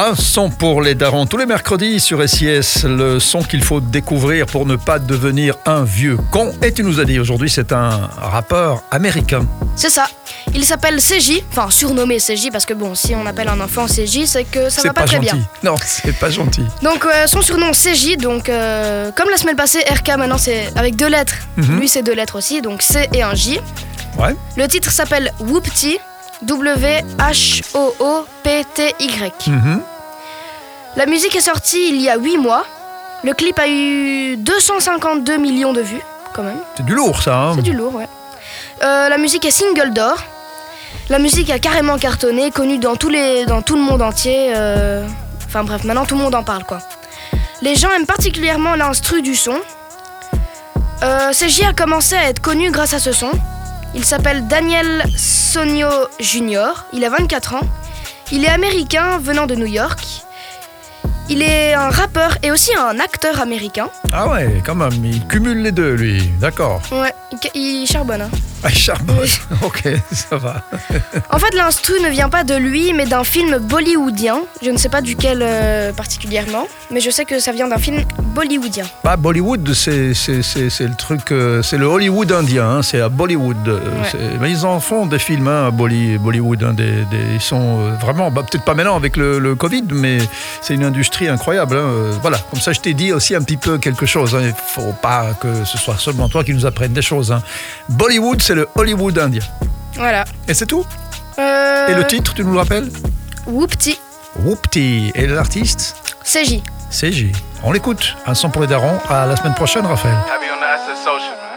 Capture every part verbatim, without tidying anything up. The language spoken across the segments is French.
Un son pour les darons tous les mercredis sur S I S, le son qu'il faut découvrir pour ne pas devenir un vieux con. Et tu nous as dit aujourd'hui c'est un rappeur américain. C'est ça, il s'appelle C J, enfin surnommé C J parce que bon, si on appelle un enfant C J c'est que ça c'est va pas, pas très gentil. bien. Non, c'est pas gentil. Donc euh, son surnom C J, donc euh, comme la semaine passée R K maintenant c'est avec deux lettres, Mm-hmm. lui c'est deux lettres aussi, donc C et un J. Ouais. Le titre s'appelle Whoopty, W H O O P T Y. Mm-hmm. La musique est sortie il y a huit mois. Le clip a eu deux cent cinquante-deux millions de vues, quand même. C'est du lourd ça, hein. C'est du lourd, ouais. Euh, la musique est single d'or. La musique a carrément cartonné, connue dans, tous les, dans tout le monde entier. euh, Enfin bref, maintenant tout le monde en parle, quoi. Les gens aiment particulièrement l'instru du son. Euh, C J a commencé à être connu grâce à ce son. Il s'appelle Daniel Sonio Junior, il a vingt-quatre ans. Il est américain venant de New York. Il est un rappeur et aussi un acteur américain. Ah ouais, quand même, il cumule les deux lui, d'accord. Ouais, il, il charbonne. Hein. Ah, il charbonne, Oui. ok, ça va. En fait, l'instru ne vient pas de lui, mais d'un film bollywoodien. Je ne sais pas duquel euh, particulièrement, mais je sais que ça vient d'un film bollywoodien. Bah, Bollywood, c'est, c'est, c'est, c'est le truc, euh, c'est le Hollywood indien, hein, c'est à Bollywood. euh, Ouais. c'est- mais ils en font des films hein, à Bolly- Bollywood, hein, des, des- ils sont euh, vraiment, bah, peut-être pas maintenant avec le, le Covid, mais c'est une industrie incroyable. hein, euh, voilà, comme ça je t'ai dit aussi un petit peu quelque chose. hein, Il ne faut pas que ce soit seulement toi qui nous apprenne des choses. hein. Bollywood, c'est le Hollywood indien. Voilà. Et c'est tout. Euh, Et le titre, tu nous le rappelles? Whoopty, Whoopty. Et l'artiste? C J. C J. On l'écoute. Un son pour les darons. À la semaine prochaine, Raphaël. Heavy on the asset social, man.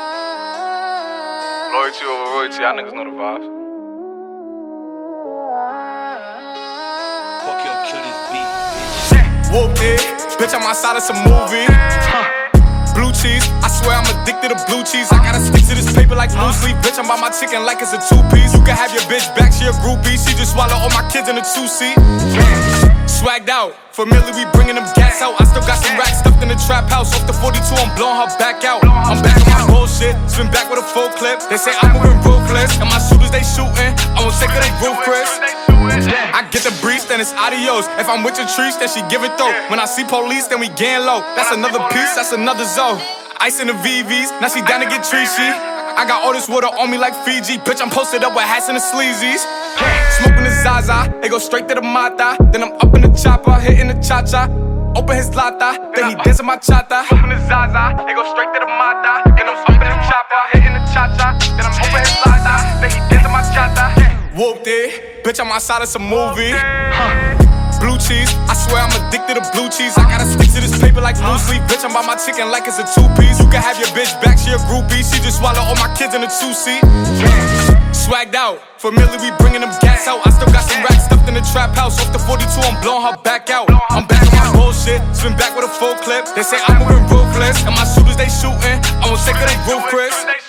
Loyalty over royalty, y'all niggas know the vibes. Fuck your kill this beat. Whooped it, bitch, I'm outside of some movie. Huh. Blue cheese, I swear I'm addicted to blue cheese. I gotta stick to this paper like blue sleep. Bitch, I'm by my chicken like it's a two-piece. You can have your bitch back, she a groupie. She just swallow all my kids in a two-seat. Swagged out, familiar, we bringing them gas out. I still got some racks stuffed in the trap house. Off the forty-two, I'm blowing her back out. I'm back on my bullshit, spin back with a full clip. They say I'm moving ruthless, and my shooters they shooting. I won't take her they roof, Chris. I get the breeze, then it's adios. If I'm with your trees, then she give it though. When I see police, then we gang low. That's another piece, that's another zone. Ice in the V Vs, now she down to get treachy. I got all this water on me like Fiji. Bitch, I'm posted up with hats and the sleazies. Smoking the Zaza, it go straight to the Mata. Then I'm up in the chopper, hitting the cha-cha. Open his lata, then he dancing my chata. Smoking the Zaza, it go straight to the Mata. Then I'm up in the chopper, hitting the cha-cha. Then I'm open his lata, then he dancing my chata. Whooped it, bitch, I'm outside of some movie. Huh. Blue cheese, I swear I'm addicted to blue cheese. I gotta stick to this paper like blue sleep. Bitch, I'm by my chicken like it's a two-piece. You can have your bitch back, she a groupie. She just swallow all my kids in a two-seat. Swagged out, familiar, we bringing them gas out. I still got some racks stuffed in the trap house. Off the forty-two, I'm blowing her back out. I'm back on my bullshit, spin back with a full clip. They say I'm moving ruthless, and my shooters they shooting. I won't take her they roof, Chris.